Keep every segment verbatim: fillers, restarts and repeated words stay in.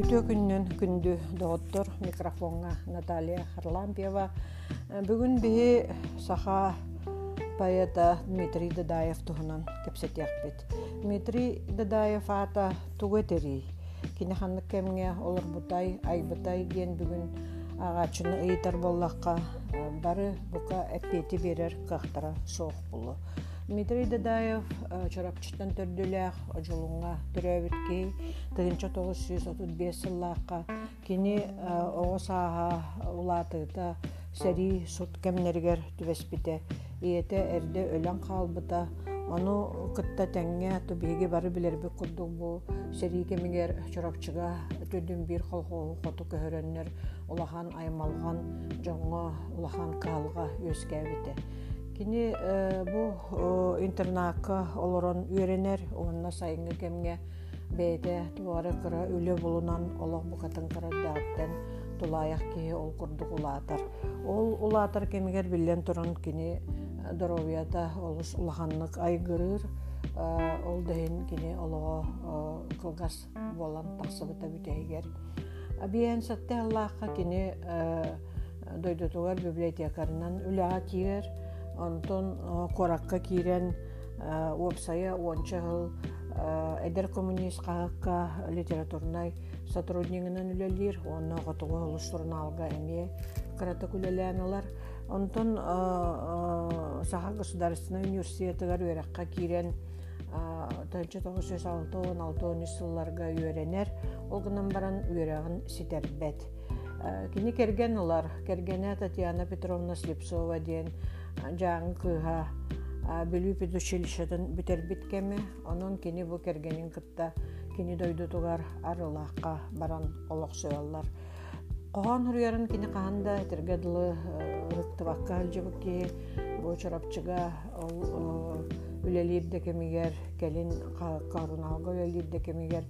Үрдө күннен күндү доктор микрофонга Наталья Харлампьева. Бүгүн бии саха поэта Дмитрий Дадаев туһунан кепсетяхпит. Дмитрий Дадаев ата тугетери. Кинеханнык кемге олорбутай, айбытай диен бүгүн агачыны ыйтар боллакка бары бука эппети берер кахтара соох булу. Дмитрий Дадаев чорапчыттан төрдүлэх жолунга төрөбүткей тыгынча тогуз жүз отуз беш сыллаакка кини оосааha улаатыта сери сут кемнергер түбеспите иете эрде өлөн калбыта ону кытта теңге тубиги бары билерби курдук бу сери кемигер чорапчыга төдүн бир колхоо коту көһөрөннөр улахан аймалган жоңго улахан калга өскәбите. Кини бу интернатка олорон үйренер, онна сайынгы кемге бейте туары кыра үлі болунан олох букатын кыра дәттен тулаяк кеhe ол курдук улаатар. Ол улаатар кемигер билен туран кини доровията олус улаханнык айгырыр, ол дейін кини олого кылгас болан тақсыбыта бүтейгер. Абиен сатте аллахка кини дойдутугар библиотекарынан үліға тиер, Антон коракка кирен уопсая онча жыл эдер коммунист кагакка литературнай сотруднигинен үлелир, онна готуга улус журналга эме карата күлеләнеләр. Антон Саха государственный университетыгар өрәккә кирен тысяча девятьсот алтынчы сылларга үйренер, ол гынан баран үйрәгән ситербет. Кини керген улар, кергене Татьяна Петровна Слепцова ден жаңы кыха бүлүү педучилищеден бүтер биткеме, онун кини бу кергенин кытта кини дойдутугар арылакка баран олок сөяллар. Коған хүрерін кини каханда тергедылы рыктыбакка алжыбыки бу чорапчыга үлелибде кемигер келин каруналга үлелибде кемигер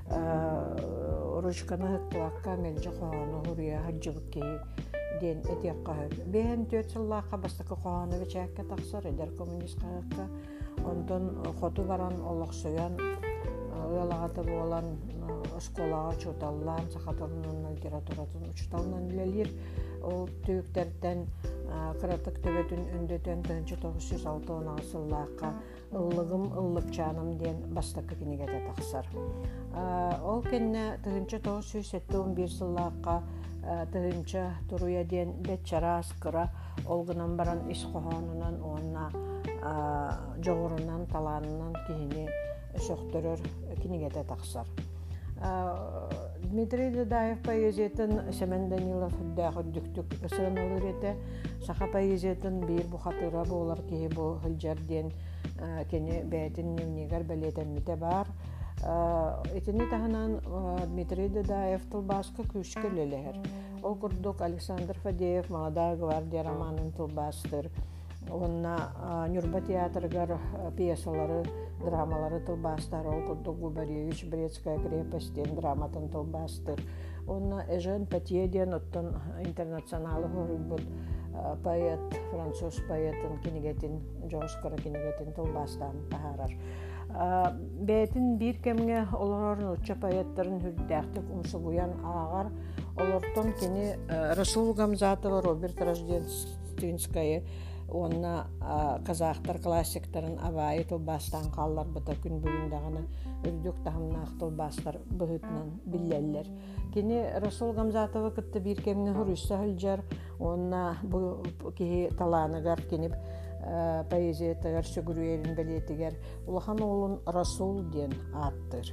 ручканы рыктыбакка мелжи коғаны хүрия алжыбыки ден этиякка бен төт сыллаакка бастакы коғаны бечәкке таксар эдер коммунист кагакка онтон хоту баран олоксуян ыалагаты болан школага чуталлан сахаторунун литературатын учуталынан үлелир ол түйүктерден кыратык төбөтүн үндөтөн тысяча девятьсот шестьдесят сыллаакка ыллыгым ыллыкчаным ден бастакы кинигете таксар ол кенне тысяча девятьсот сексен бир сыллаакка тыгынча туруя ден бечарас кыра олгунан баран ис кохонунан онна жогорунан таланынан кихини сөктөрөр кинигете таксар. Дмитрий Дадаев поэзиятын Семен Данилов дагы дүктүк сыналыр эте саха поэзиятын бир бухатыра болар кихи бу хылжарден кени бәтин дневнигер белетенмите бар. Этини таханан Дмитрий Дадаев тылбаска күшкө лелер. Ол курдук Александр Фадеев «Молодая гвардия» романын тылбастыр. Онна Нюрба театргар пьесалары, драмалары тылбастар. Ол курдук Губаревич «Брестская крепость» драматын тылбастыр. Онна Эжен Патьеден оттон интернационалы хорубут поэт, француз поэтын кинигетин, Джоскара кинигетин тылбастан тахарар. Бәтин бир кемге олорорун учча поэттарын хүрдәхтік умсугуян ағар олортон кені Расул Гамзатова, Роберт Рождественская, онна казахтар классиктарын абайы тылбастан қаллар бұта күн бүгіндағына үрдік тахымнақ тылбастар бұғытынан білелер. Кені Расул Гамзатова кітті бир кемге хүрүсі хылжар, онна бұл кеге таланыгар кеніп поэзиятыгар сөгүрүерин белетигер улахан оолун Расул ден аттыр.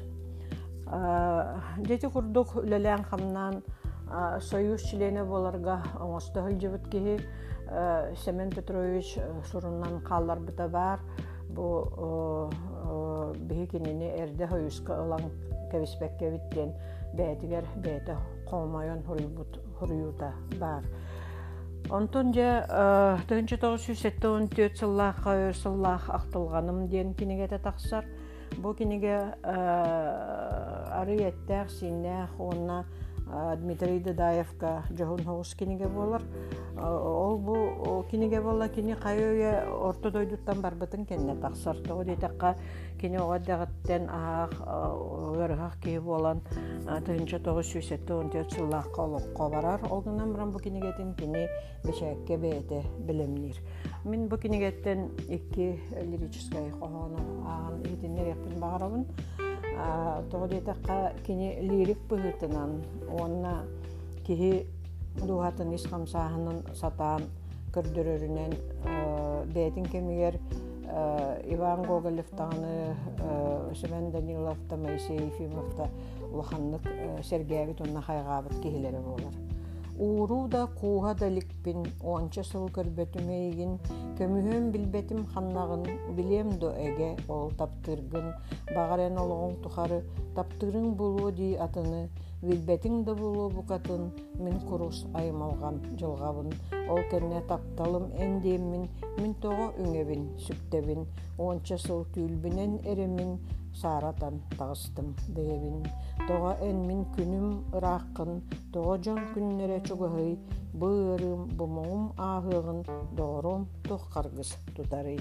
Дети курдук үлелен хамнан союз члены боларга оңосто хылжыбыт кеги Семен Петрович суруннан қаллар быта бар. Бу биги кинини эрде союзка ылан кебиспекке биттен бәтигер бәте комайон хуруюта бар. Онтон же тысяча девятьсот сексен төрт сыллаакка сыллаак актылганым ден кинигете таксар. Бу киниге ары еттер синне онна Дмитрий Дадаевка жоғын хоғыз кинеге болар. Ол бұл кинеге бола кини қайуя орто дойдуттан барбытын кенне тақсарты. О дейтаққа кини оғаддағыттен ағақ өрғақ кей болан тығынша тоғыз сүйсетті он төрт сыллаққа олыққа барар. Олғынан бұрын бұл кинегетін кини бешәкке бейті білімнер. Мен бұл кинегеттен екі лирическай қоғаны ағын етінер еппін бағарабын. Тоғы дейтаққа кини лирик бұғытынан, онына кихи дуғатын исқамсағының сатаан көрдірерінен бәйтін кемігер Иван Гоголевтағыны, Семен Даниловта, Моисей Ефимовта ұлғанлық Сергеевит онына қайғабыт кехілері болар. Ууру да куға даликпин, онча сыл көрбетімейгін, көмүхөн билбетим ханнағын, билем до әге ол таптыргын, бағарен олығын тұқары, таптырың болу дей атыны, билбетің да болу бұқатын, мен құрус аймалған жылғабын, ол кәне тапталым әндемін, мен тоғы үңебін, сүктебін, онча сыл түйілбінен әремін, саратан тағыстым бейбін. Тоға әнмін күнім ұраққын, тоға жон күннері чуғығый, бұғырым, бұмығым ағығын, доғырым тоқ қарғыз тұтарый.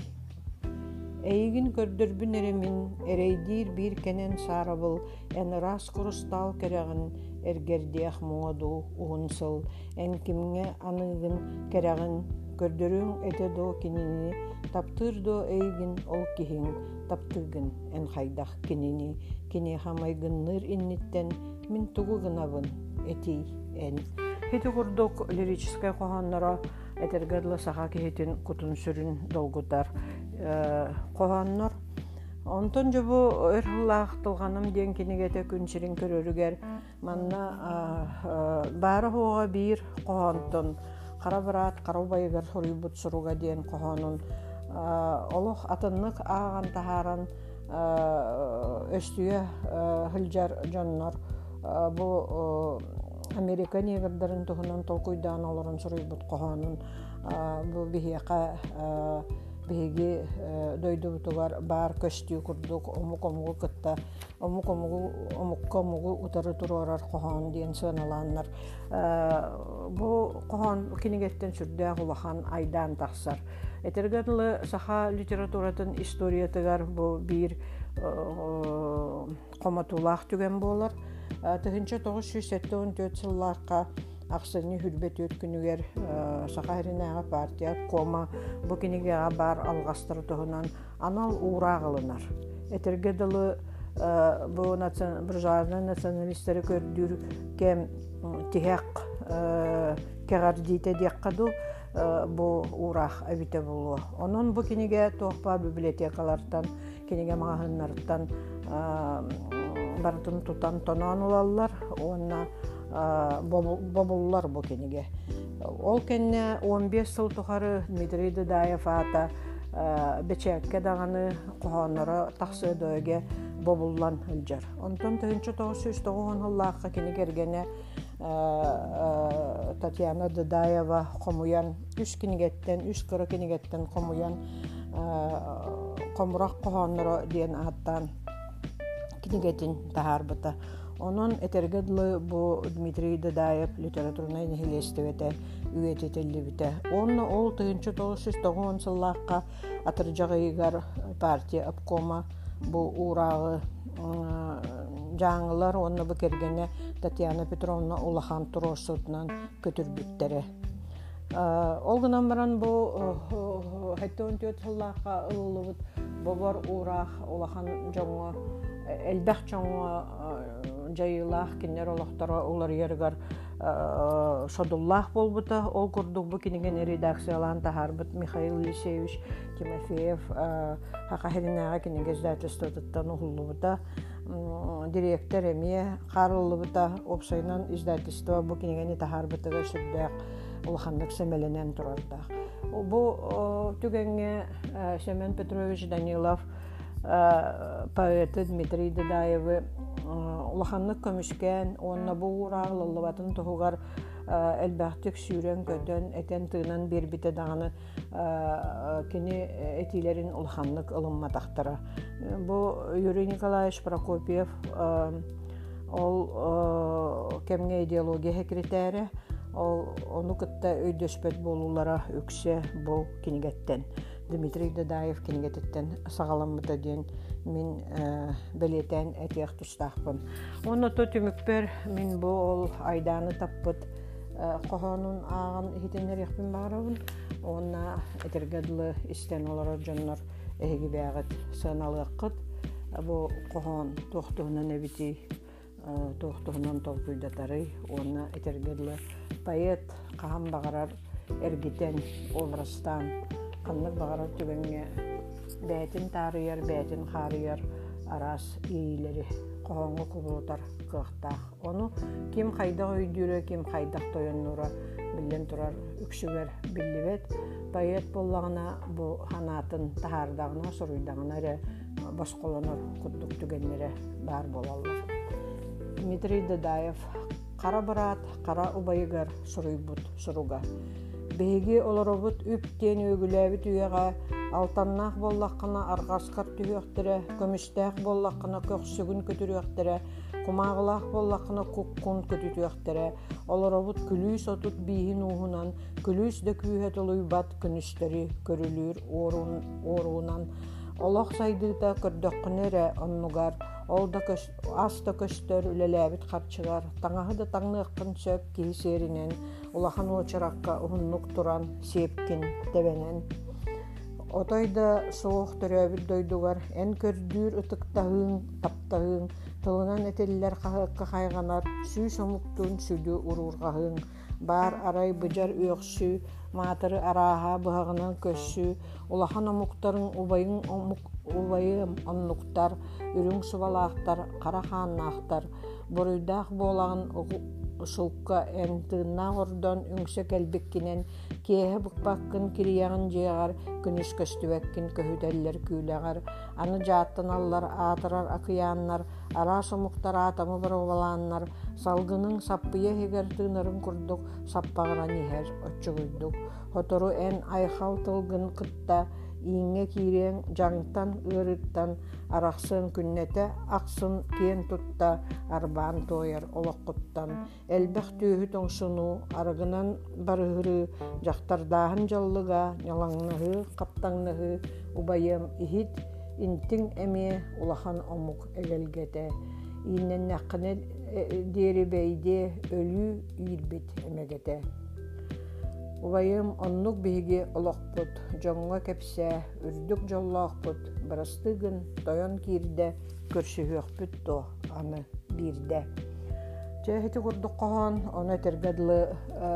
Әйгін көрдірбін әремін, әрейдер бір кәнен сарабыл, ән рас құрыстал кәрәғін, әргердеяқ мұңаду ұғынсыл, ән кімге анығын кәрәғін, көрдірің әті до кенені, таптыр до әйгін ол кехін, таптыргын ән қайдақ кенені, кене хамайгынныр инниттен, мен тұғы ғынабын, әтей ән. Хеті құрдық лирическай қоғаннара әтергерлі саға кехетін күтін сүрін долгудар қоғаннар. Онтон жобу өрхыллағықтылғаным ден кенегеті күншірін көрірігер, манна бары хоға бір қоғантын, қара бірат, қара байығыр хұрыбыт сұруға ден қоғанын, олық атынлық ағын тахаран өстүйе хылжар жоннар, бұл Америка негірдерін тұғынан толқойдан оларын сұруйбыт қоғанын, бұл бігеқа беге дойду бутугар бар көстүү курдук омукомугу кытта омукомугу омуккомугу утары турарар кохан диен саналаннар. Бу кохан кинегеттен сүрдө улахан айдан таксар. Этергерлы саха литературатын историятыгар бу бир коматулах түген болар. Тыгынча тогуз жүз сексен төрт жылларга Ақсыны хүрбет өткінігер Сақайринағы партия кома бүкінеге бар алғастыр тұғынан анал урағылынар. Этергеділі бұржарының националистері көрдір кем тихек кеғар дейті деққаду бұл урақ әбіте болуы. Onun бүкінеге тоқпа библиотекалардан, кенеге мағынлардан бардың тұтан тонан олалар, онына бобуллар бу кенеге. Ол кенне он беш жыл тухары Дмитрий Дадаев ата бечекке даганы кохонора таксы дөге бобуллан ылжар. Онтон тогуз жүз тогуз жылларга кенегергене Татьяна Дадаева комуян үч кенегеттен үч кыры кенегеттен комуян комурак кохонора диен аттан кенегетин тахарбыта. Onun etергedli bu Dmitri Дадаев литературный нехилестевете үететелли бите. Onu ol тогуз жүз тогуз жылларга атыржагыйгар партия обкома bu урагы жаңылар onu bu кергене Татьяна Петровна улахан туросутнан көтүрбүттери. Ол гынан баран bu он төрт жылларга ылылыбыт бобор урак улахан жоңо элбэх жоңо жайылах кинер олохтора улар яргар шодуллах болбута ол курдук бу кинеген редакциялан тахарбыт Михаил Лисевич Тимофеев хакахиринага кинеге издательствотан улубута директор эме карылыбыта опсайнан издательство бу кинегени тахарбытыга сүрдәк улахандык семеленен турарда. Бу түгенге Семен Петрович Данилов поэты Дмитрий Дадаевы улаханлык көмүшкен, онна бу урагылылыбатын тугугар элбахтык сүйрен көтөн этен тыынан бербите даганы кини этилерин улаханлык ылымма тактара. Бу Юрий Николаевич Прокопьев ол кемге идеология секретары ол оны кытта өйдөспөт болулара үксе бұл кинигеттен Дмитрий Дадаев кинигеттен сагаламыта ден мен белетен этиях тустахпын. Оны то түмүкпер мен бұл айданы таппыт кохонун ағын хитенер яқпын бағарабын. Оны этергедлы истен олары жоннор эһиги бәғыт сыналыққыт. Бұл кохон тоқтуғынан әбіти тоқтуғынан толкуйдатары. Оны этергедлы поэт қағам бағарар эргитен обрастан қаннық бағарар түбенге бәтін тарыяр, бәтін қарыяр арас ийлері қоғанғы құбылытар қықтақ. Оны кем қайдақ өйдірі, кем қайдақ тойыннура білден тұрар үксігер білдібет. Поэт боллағына бұл ханатын тахардағына, сұруйдағына рі басқоланыр құттық түгенлері бар болалар. Дмитрий Дадаев қара барат, қара ұбайығар сұруйбұт сұруға. Беги олоробут үптен өгүләбит үйеға алтаннах боллаққына арғасқар түйектірі, көмістәқ боллаққына көксігін көтіректірі, құмағылақ боллаққына көккун көтүтүйектірі, олоробут күліс отут бейін уғынан, күліс ді күйет олуйбат күністері көрілір оруынан, олақ сайдыта көрдөққінері оннугар, ол да аста көстер үлеләбит қарчығар, таңағы да таңныққын сөп кейсерінен, улахан очараққа ұғыннық тұран сепкін дәбенен. Отойда соғық түрәбіл дойдуғар, ән көрдүр ұтықтағын, таптағын, тылынан әтелілер қағыққа қайғанар, сүй сомуқтың сүді ұрурғағын, бар арай бұжар өқсі, матыры араға бұғағынан көссі, улахан омуқтарын убайым оннуқтар, үрің сұбалақтар, қараханнақтар, бұрыйдақ болағын ұшылққа әнтіғына ғырдан үңсі кәлбеккенен кейі бұқпаққын кирияғын жеғар, күніс көстібәккін көхүдәлілер күйләғар, аны жаттын аллар, атырар ақыяннар, ара сомуқтар атамы бір оланнар, салғының саппыя хегер тыңырын күрдік, саппағыран ехер өтчігүйдік. Хотору ән айхал тылғын қытта, иңе кирен жаңтан ырыттан арақсын күннете ақсын кен тұтта арбан тойыр олыққыттан әлбәқ түйі тоңсыну арығынан барығыры жақтардағын жаллыға нялаңнығы қаптаңнығы убайым ихит интің әме улахан омук әгелгеті иннен наққыны дері бәйде өлі үйірбет әмегеті. Убайым оннук биһиги олоқпут, жоңға кепсе, үрдік жоллоқпут, барастыгын тойон кирде, көрсүхөкпүт то аны бирде. Чэхети курдук кохон, оны тергедлы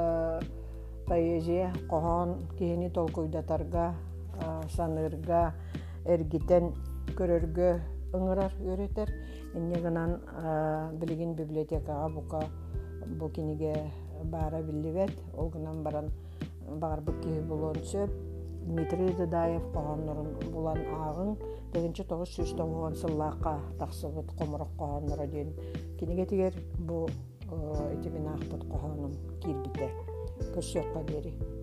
поэзия кохон кихини толкуйдатарга, санырга, эргитен көрөргө ыңырар өретер. Инне гынан билигин библиотекага бука бу киниге бара билибет, ол гынан баран бағарбық кейі болуын сөп, Дмитрий Дадаев қоғанларын болан ағын, дегенше тоғыз жүз тоғыз сыллаққа тақсыбыт қомырық қоғанлары ден. Кенеге тегер бұл етебен ақпыт қоғаным кирбіте. Көсөкқа дері.